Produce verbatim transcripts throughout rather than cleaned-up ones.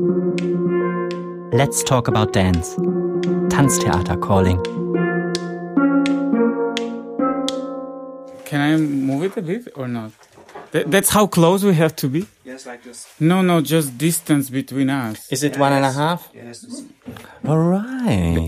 Let's talk about dance. Tanztheater calling. Can I move it a bit or not? Th- that's how close we have to be? Yes, like this. No, no, just distance between us. Is it one and a half? Yes. All right.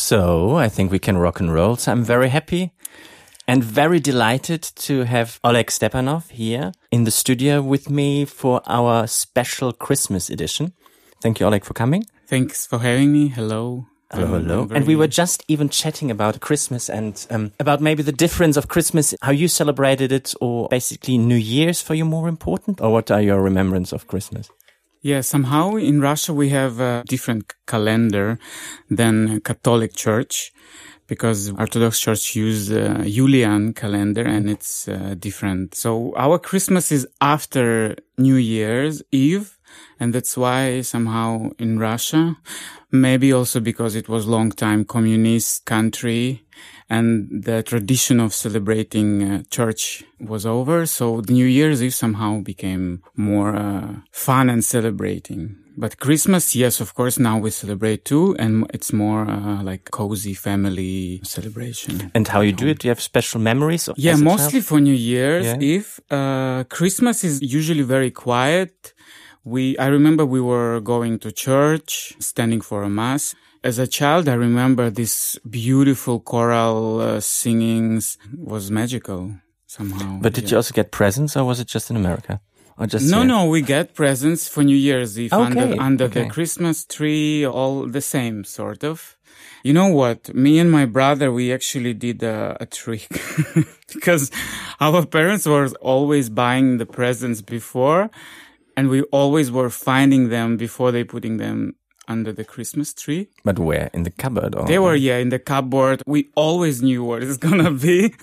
So I think we can rock and roll. So I'm very happy and very delighted to have Oleg Stepanov here in the studio with me for our special Christmas edition. Thank you, Oleg, for coming. Thanks for having me. Hello. Hello, hello. And we were just even chatting about Christmas and um, about maybe the difference of Christmas, how you celebrated it, or basically New Year's for you more important? Or what are your remembrance of Christmas? Yeah, somehow in Russia we have a different calendar than Catholic Church, because Orthodox Church use uh, Julian calendar and it's uh, different. So our Christmas is after New Year's Eve. And that's why somehow in Russia, maybe also because it was long time communist country and the tradition of celebrating uh, church was over. So the New Year's Eve somehow became more uh, fun and celebrating. But Christmas, yes, of course, now we celebrate too. And it's more uh, like cozy family celebration. And how you do it? Do you have special memories? Of Yeah, mostly for New Year's yeah. Eve. Uh, Christmas is usually very quiet. We, I remember we were going to church, standing for a mass. As a child, I remember this beautiful choral uh, singings was magical somehow. But did yeah. you also get presents, or was it just in America? Or just no, here? no, we get presents for New Year's Eve okay. under, under okay. the Christmas tree, all the same sort of. You know what? Me and my brother, we actually did a, a trick because our parents were always buying the presents before. And we always were finding them before they putting them under the Christmas tree. But where? In the cupboard? Or? They were, yeah, in the cupboard. We always knew what it's gonna be.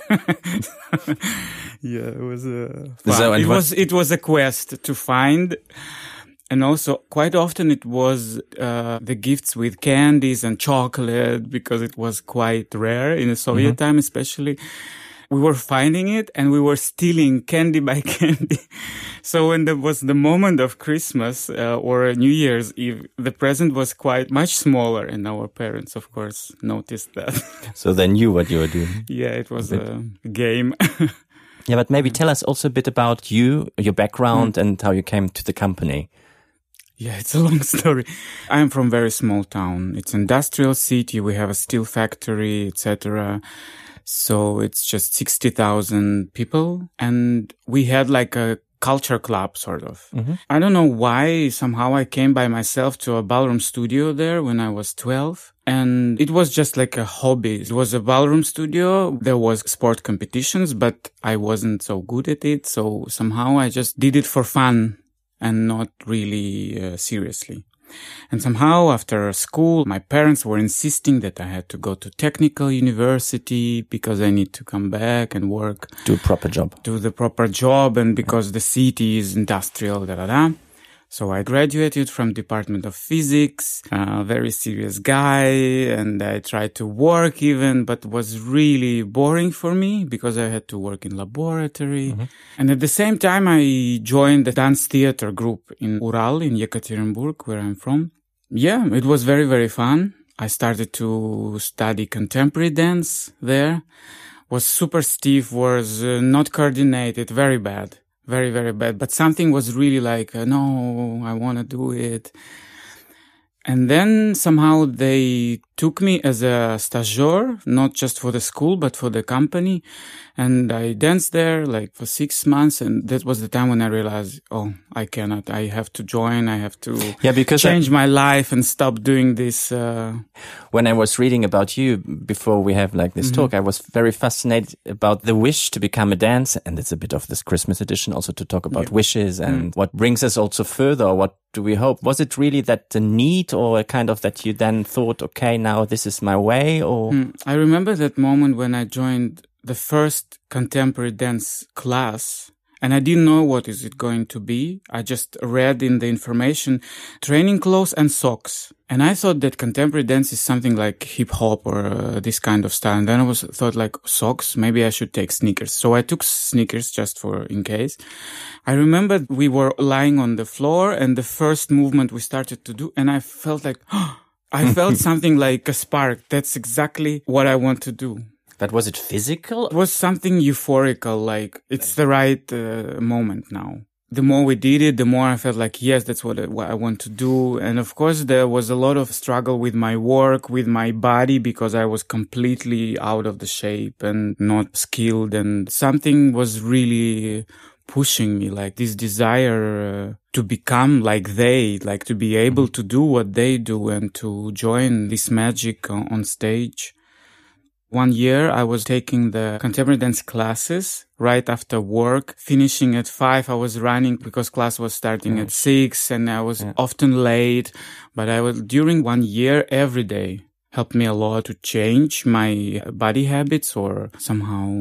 Yeah, it was uh, fun. So, it what- was it was a quest to find. And also, quite often it was uh the gifts with candies and chocolate, because it was quite rare in the Soviet Mm-hmm. time, especially. We were finding it and we were stealing candy by candy. So when there was the moment of Christmas uh, or New Year's Eve, the present was quite much smaller, and our parents, of course, noticed that. So they knew what you were doing. Yeah, it was a, a game. Yeah, but maybe tell us also a bit about you, your background, mm. and how you came to the company. Yeah, it's a long story. I'm from a very small town. It's an industrial city. We have a steel factory, et cetera. So it's just sixty thousand people. And we had like a culture club, sort of. Mm-hmm. I don't know why. Somehow I came by myself to a ballroom studio there when I was twelve. And it was just like a hobby. It was a ballroom studio. There was sport competitions, but I wasn't so good at it. So somehow I just did it for fun and not really uh, seriously. And somehow after school, my parents were insisting that I had to go to technical university because I need to come back and work. Do a proper job. Do the proper job, and because the city is industrial, da da da. So I graduated from Department of Physics, a very serious guy, and I tried to work even, but it was really boring for me because I had to work in laboratory. Mm-hmm. And at the same time, I joined the dance theater group in Ural, in Yekaterinburg, where I'm from. Yeah, it was very, very fun. I started to study contemporary dance there. Was super stiff, was uh, not coordinated, very bad. Very, very bad. But something was really like, uh, no, I want to do it. And then somehow they took me as a stagiaire, not just for the school, but for the company. And I danced there like for six months. And that was the time when I realized, oh, I cannot. I have to join. I have to yeah, because change I, my life and stop doing this. Uh... When I was reading about you before we have like this mm-hmm. talk, I was very fascinated about the wish to become a dancer. And it's a bit of this Christmas edition also to talk about yeah. wishes and mm. what brings us also further, or what do we hope? Was it really that the need, or a kind of that you then thought, okay, now this is my way? Or mm. I remember that moment when I joined the first contemporary dance class, And I didn't know what is it going to be. I just read in the information, training clothes and socks. And I thought that contemporary dance is something like hip hop or uh, this kind of style. And then I was thought like socks, maybe I should take sneakers. So I took sneakers just for in case. I remember we were lying on the floor and the first movement we started to do. And I felt like, oh, I felt something like a spark. That's exactly what I want to do. But was it physical? It was something euphorical, like it's the right uh, moment now. The more we did it, the more I felt like, yes, that's what I, what I want to do. And of course, there was a lot of struggle with my work, with my body, because I was completely out of the shape and not skilled. And something was really pushing me, like this desire uh, to become like they, like to be able to do what they do and to join this magic on, on stage. One year I was taking the contemporary dance classes right after work, finishing at five. I was running because class was starting yeah. at six and I was yeah. often late. But I was during one year every day helped me a lot to change my body habits or somehow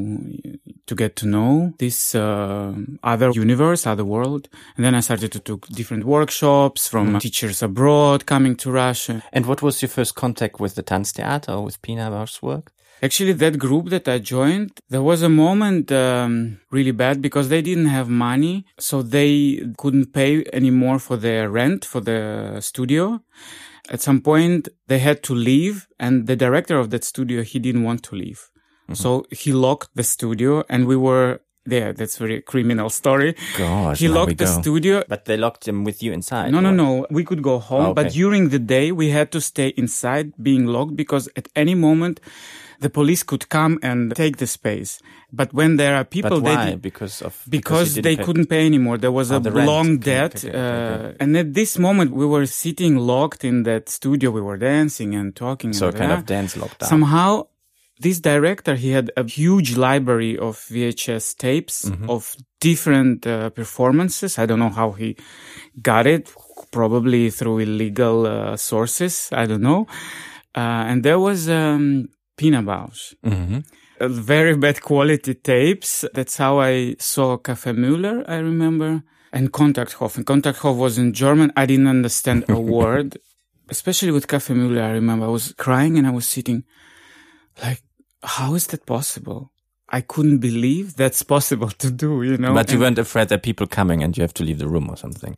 to get to know this uh, other universe, other world. And then I started to do different workshops from mm. teachers abroad coming to Russia. And what was your first contact with the Tanztheater or with Pina Bausch's work? Actually, that group that I joined, there was a moment um, really bad because they didn't have money. So they couldn't pay anymore for their rent for the studio. At some point, they had to leave. And the director of that studio, he didn't want to leave. Mm-hmm. So he locked the studio and we were there. That's a very criminal story. Gosh, he locked the go. studio. But they locked him with you inside? No, or? no, no. We could go home. Oh, okay. But during the day, we had to stay inside being locked because at any moment, the police could come and take the space. But when there are people... But why? They did, because of... Because, because they pay. couldn't pay anymore. There was oh, a the long okay, debt. Okay, okay, uh, okay. And at this moment, we were sitting locked in that studio. We were dancing and talking. So and kind that. of dance lockdown. Somehow, this director, he had a huge library of V H S tapes mm-hmm. of different uh, performances. I don't know how he got it. Probably through illegal uh, sources. I don't know. Uh, and there was... Um, Pina Bausch. Mm-hmm. Uh, very bad quality tapes. That's how I saw Café Müller, I remember. And Kontakthof. And Kontakthof was in German. I didn't understand a word. Especially with Café Müller, I remember. I was crying and I was sitting like, how is that possible? I couldn't believe that's possible to do, you know. But you and, weren't afraid that people coming and you have to leave the room or something?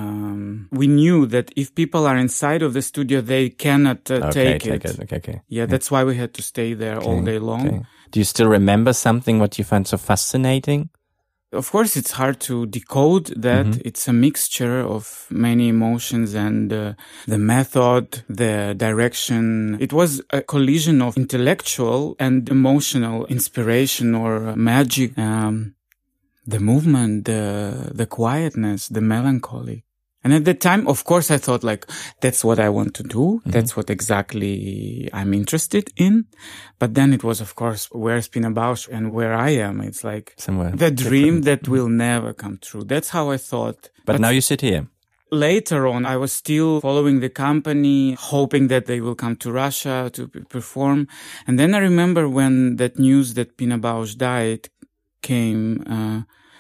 Um, we knew that if people are inside of the studio, they cannot uh, okay, take, take it. it. Okay, okay. Yeah, yeah, that's why we had to stay there okay, all day long. Okay. Do you still remember something what you find so fascinating? Of course, it's hard to decode that. Mm-hmm. It's a mixture of many emotions and uh, the method, the direction. It was a collision of intellectual and emotional inspiration or magic. Um, the movement, the, the quietness, the melancholy. And at that time, of course, I thought like, that's what I want to do. Mm-hmm. That's what exactly I'm interested in. But then it was, of course, where's Pina Bausch and where I am? It's like somewhere the dream different. that will never come true. That's how I thought. But, but now you sit here. Later on, I was still following the company, hoping that they will come to Russia to perform. And then I remember when that news that Pina Bausch died came, uh,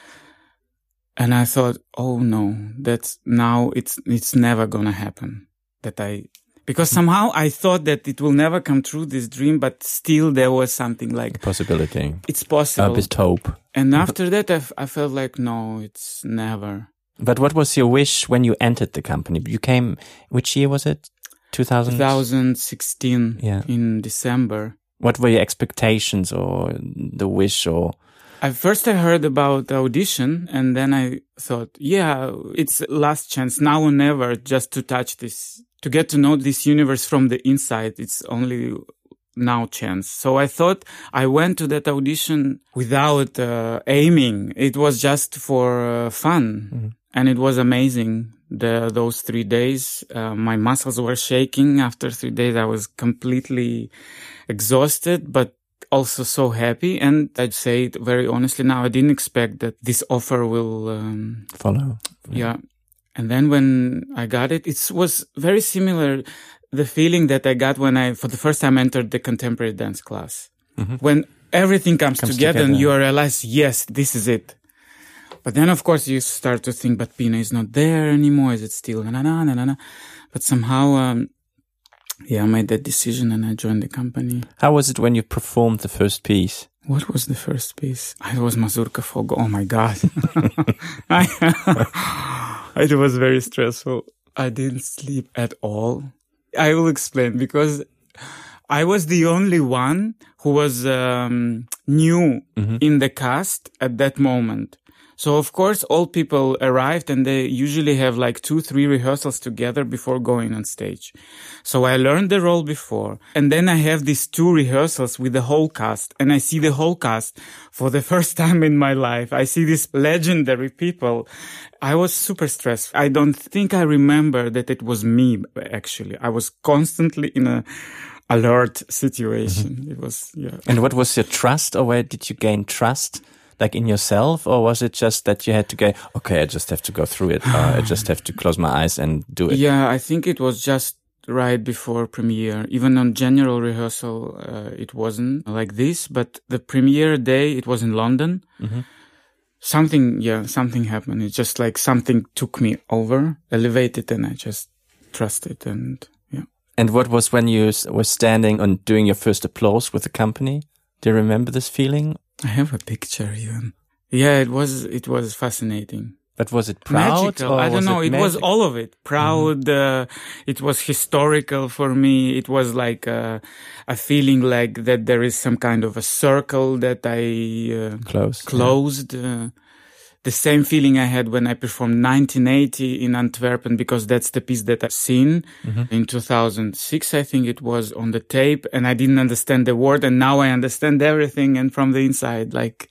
and I thought, oh no, that's now it's, it's never gonna happen. That I, because somehow I thought that it will never come true, this dream, but still there was something like... A possibility. It's possible. A bit hope. And after that, I, f- I felt like, no, it's never. But what was your wish when you entered the company? You came, which year was it? two thousand? twenty sixteen. Yeah. In December. What were your expectations or the wish or... At first I heard about the audition and then I thought, yeah, it's last chance now or never just to touch this, to get to know this universe from the inside. It's only now chance. So I thought I went to that audition without uh, aiming. It was just for uh, fun. Mm-hmm. And it was amazing. The, those three days, uh, my muscles were shaking. After three days, I was completely exhausted, but also so happy. And I'd say it very honestly now, I didn't expect that this offer will um, follow. Yeah. yeah. And then when I got it, it was very similar. The feeling that I got when I, for the first time, entered the contemporary dance class. Mm-hmm. When everything comes, comes together, together and you realize, yes, this is it. But then, of course, you start to think, but Pina is not there anymore. Is it still na na na na na? But somehow, um, yeah, I made that decision and I joined the company. How was it when you performed the first piece? What was the first piece? It was Mazurka Fogo. Oh my God. It was very stressful. I didn't sleep at all. I will explain, because I was the only one who was um, new mm-hmm. in the cast at that moment. So, of course, all people arrived and they usually have like two, three rehearsals together before going on stage. So I learned the role before. And then I have these two rehearsals with the whole cast. And I see the whole cast for the first time in my life. I see these legendary people. I was super stressed. I don't think I remember that it was me, actually. I was constantly in a alert situation. Mm-hmm. It was, yeah. And what was your trust, or where did you gain trust? Like in yourself, or was it just that you had to go, okay, I just have to go through it, or I just have to close my eyes and do it? Yeah, I think it was just right before premiere. Even on general rehearsal, uh, it wasn't like this, but the premiere day, it was in London. Mm-hmm. Something, yeah, something happened. It's just like something took me over, elevated, and I just trusted, and yeah. And what was when you were standing and doing your first applause with the company? Do you remember this feeling? I have a picture even. Yeah, it was, it was fascinating. But was it proud? Magical. Or I don't was know. It, it was all of it. Proud. Mm-hmm. Uh, it was historical for me. It was like a, a feeling like that there is some kind of a circle that I uh, Close, closed. Yeah. Uh, the same feeling I had when I performed nineteen eighty in Antwerp, because that's the piece that I've seen mm-hmm. in two thousand six, I think it was, on the tape, and I didn't understand the word, and now I understand everything, and from the inside, like,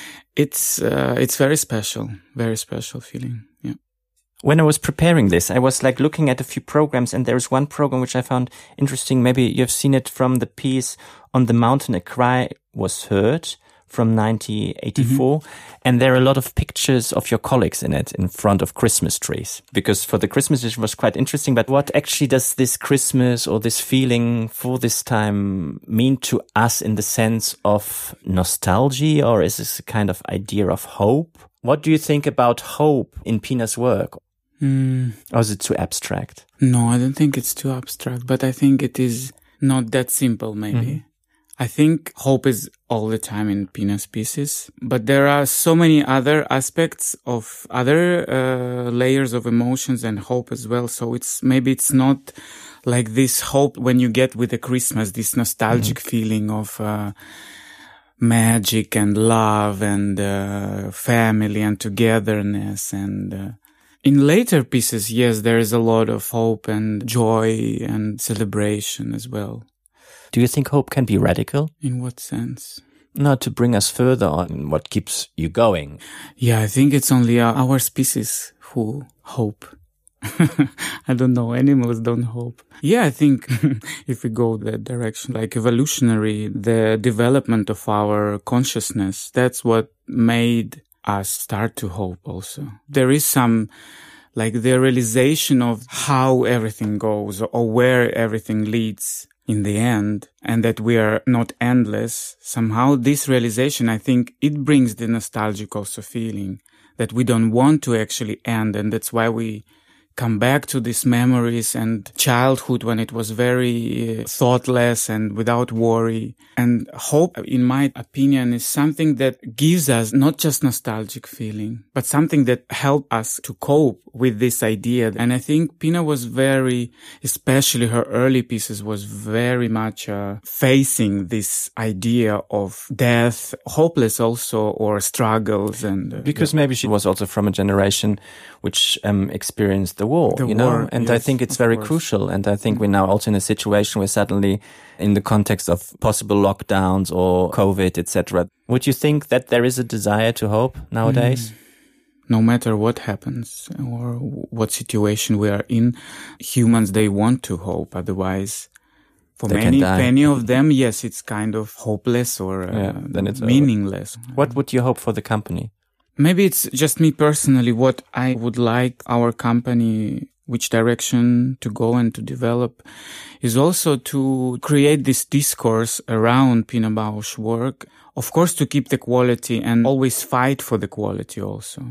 it's, uh, it's very special, very special feeling, yeah. When I was preparing this, I was like looking at a few programs, and there's one program which I found interesting. Maybe you've seen it from the piece On the Mountain, A Cry Was Heard, from nineteen eighty-four. Mm-hmm. And there are a lot of pictures of your colleagues in it in front of Christmas trees. Because for the Christmas it was quite interesting. But what actually does this Christmas or this feeling for this time mean to us in the sense of nostalgia? Or is this a kind of idea of hope? What do you think about hope in Pina's work? Mm. Or is it too abstract? No, I don't think it's too abstract. But I think it is not that simple, maybe. Mm-hmm. I think hope is all the time in Pina's pieces, but there are so many other aspects of other uh, layers of emotions and hope as well. So it's maybe it's not like this hope when you get with the Christmas, this nostalgic mm-hmm. feeling of uh, magic and love and uh, family and togetherness. And uh, in later pieces, yes, there is a lot of hope and joy and celebration as well. Do you think hope can be radical? In what sense? No, to bring us further on what keeps you going. Yeah, I think it's only our species who hope. I don't know. Animals don't hope. Yeah, I think if we go that direction, like evolutionary, the development of our consciousness, that's what made us start to hope also. There is some, like the realization of how everything goes or where everything leads in the end, and that we are not endless. Somehow this realization, I think it brings the nostalgic also feeling that we don't want to actually end. And that's why we come back to these memories and childhood when it was very thoughtless and without worry. And hope, in my opinion, is something that gives us not just nostalgic feeling, but something that helps us to cope with this idea. And I think Pina was very, especially her early pieces, was very much uh, facing this idea of death, hopeless also, or struggles. And uh, because yeah. maybe she was also from a generation which um, experienced the war, the you know, war, and yes, I think it's very course. crucial. And I think we're now also in a situation where suddenly, in the context of possible lockdowns or COVID, et cetera, would you think that there is a desire to hope nowadays? Mm. No matter what happens or what situation we are in, humans, they want to hope. Otherwise, for they many, many of them, yes, it's kind of hopeless or uh, yeah, then it's meaningless. Over. What would you hope for the company? Maybe it's just me personally, what I would like our company, which direction to go and to develop, is also to create this discourse around Pina Bausch's work. Of course, to keep the quality and always fight for the quality also.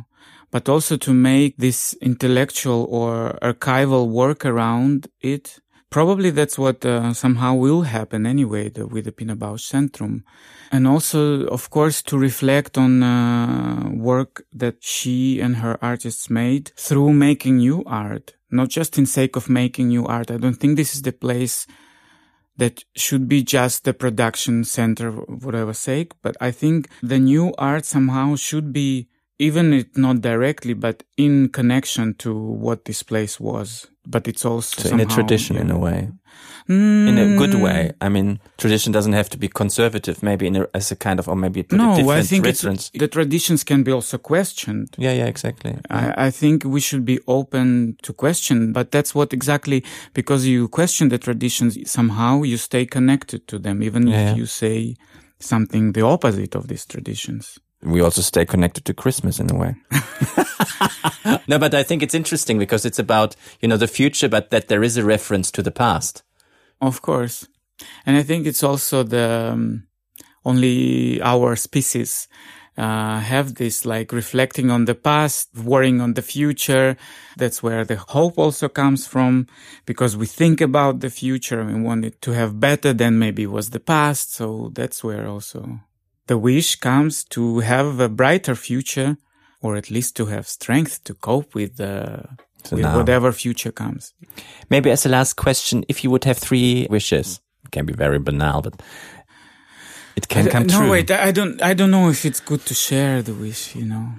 but also to make this intellectual or archival work around it. Probably that's what uh, somehow will happen anyway the, with the Pina Bausch Centrum. And also, of course, to reflect on uh, work that she and her artists made through making new art, not just in sake of making new art. I don't think this is the place that should be just the production center, whatever sake, but I think the new art somehow should be, even if not directly, but in connection to what this place was. But it's also so somehow, in a tradition, yeah. in a way, mm. in a good way. I mean, tradition doesn't have to be conservative. Maybe in a, as a kind of, or maybe put no, a different I think reference. the traditions can be also questioned. Yeah, yeah, exactly. Yeah. I, I think we should be open to question, but that's what exactly, because you question the traditions, somehow you stay connected to them, even yeah. if you say something the opposite of these traditions. We also stay connected to Christmas in a way. No, but I think it's interesting because it's about, you know, the future, but that there is a reference to the past. Of course. And I think it's also the, um, only our species, uh, have this like reflecting on the past, worrying on the future. That's where the hope also comes from, because we think about the future and we want it to have better than maybe was the past. So that's where also the wish comes to have a brighter future, or at least to have strength to cope with, uh, so with whatever future comes. Maybe as a last question, if you would have three wishes, it can be very banal, but it can I, come no, true. No, wait, I don't, I don't know if it's good to share the wish, you know.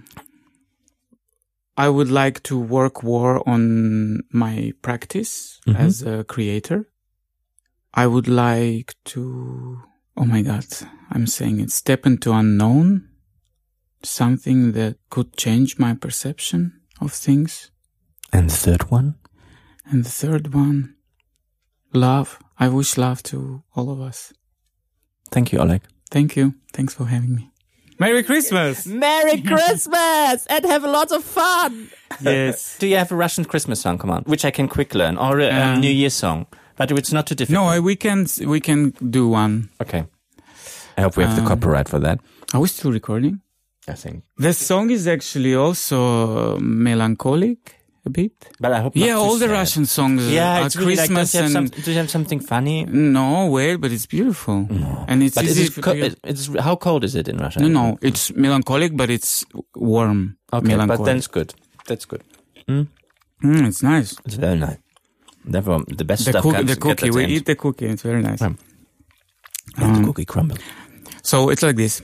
I would like to work more on my practice mm-hmm. as a creator. I would like to, oh my God, I'm saying it, step into unknown, something that could change my perception of things. And the third one? And the third one, love. I wish love to all of us. Thank you, Oleg. Thank you. Thanks for having me. Merry Christmas! Merry Christmas! And have a lot of fun! Yes. Do you have a Russian Christmas song, come on, which I can quick learn, or a um, New Year song? But it's not too difficult. No, we can, we can do one. Okay. I hope we have um, the copyright for that. Are we still recording? I think. The song is actually also melancholic a bit. But I hope Yeah, not all the sad. Russian songs yeah, are it's really Christmas like, and... some, do you have something funny? No, well, but it's beautiful. No. And it's but easy... Is it co- it's, it's, how cold is it in Russia? No, no, it's melancholic, but it's warm. Okay, but then it's good. That's good. Mm? Mm, it's nice. It's very nice. Therefore, the best the stuff cook, comes The cookie, we eat the cookie, it's very nice. Yeah. And um, the cookie crumble. So it's like this.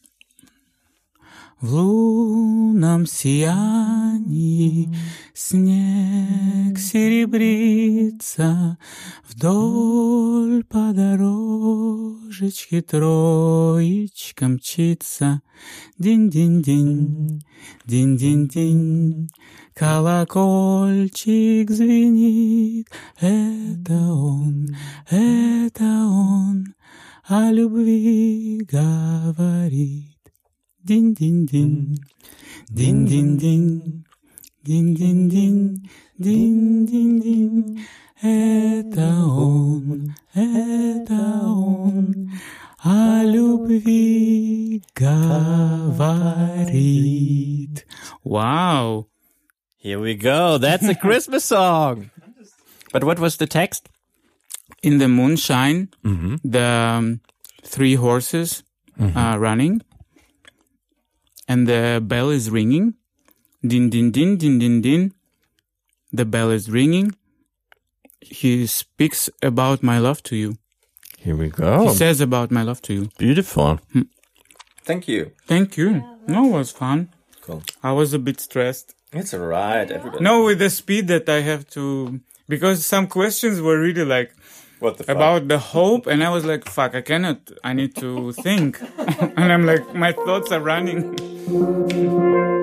В лунном сиянии снег серебрится, вдоль по дорожечке троечка мчится. Динь-динь-динь, динь-динь-динь, колокольчик звенит. Это он, это он о любви говорит. Динь-динь-динь, динь-динь-динь, динь-динь-динь, динь-динь-динь. Это он, это он о любви говорит. Wow. Here we go. That's a Christmas song. But what was the text? In the moonshine, mm-hmm. the um, three horses mm-hmm. are running. And the bell is ringing. Din, din, din, din, din, din. The bell is ringing. He speaks about my love to you. Here we go. He says about my love to you. Beautiful. Hmm. Thank you. Thank you. No, it was fun. Cool. I was a bit stressed. It's alright. Everybody. No, with the speed that I have to... Because some questions were really like... What the fuck? About the hope, and I was like, fuck, I cannot, I need to think. And I'm like, my thoughts are running.